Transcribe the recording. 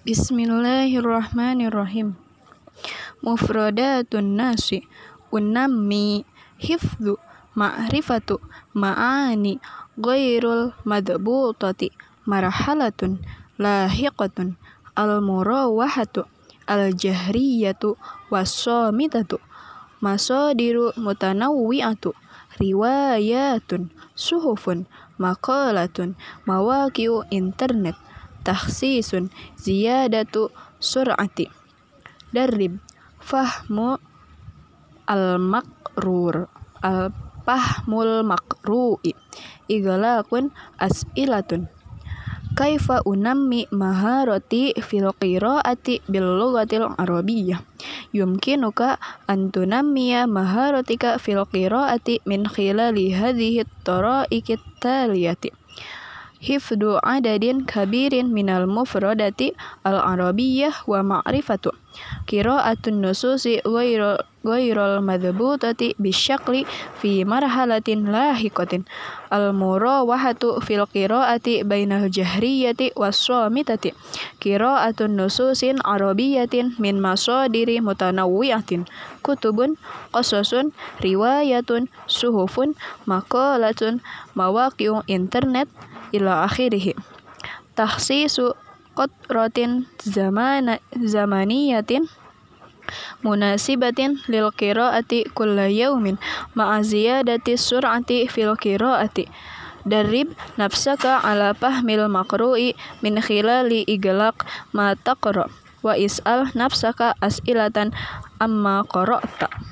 Bismillahirrahmanirrahim. Mufradatun nasi unammi hifdzu ma'rifatu ma'ani ghairul madbutati marhalatun lahiqatun al-murawahatu al-jahriyatu was-samitatu masadiru mutanawwi'atu riwayatun suhufun maqalatun mawaqi'u internet takhsisun ziyadatu sur'ati darrib fahmu al-fahmul makru'i iglaqun as'ilatun kaifa unammi maharati fil qiraati bil lughatil arabiyyah yumkinuka an tunammiya maharatika fil qiraati min khilali hadhihi at-tara'iqit taliyati hifdu adadin kabirin minal mufradati al-arabiyyah wa ma'rifatu qira'atun nususi ghairul madbutati bisyakli fi marhalatin lahiqatin al-murawahatu fil qira'ati bainal jahriyati was-samitati qira'atun nususin arabiyyatin min masadiri mutanawwi'atin kutubun qasasun riwayatun suhufun maqalatun mawaqi'u internet ila akhirih takhsisu qatratin zamaniyatin munasibatin lil qiraati kulla yaumin ma'a ziyadati sur'ati fil qiraati darrib nafsaka ala fahmil maqru'i min khilali iglaq ma taqra wa is'al nafsaka as'ilatan amma qara'ta.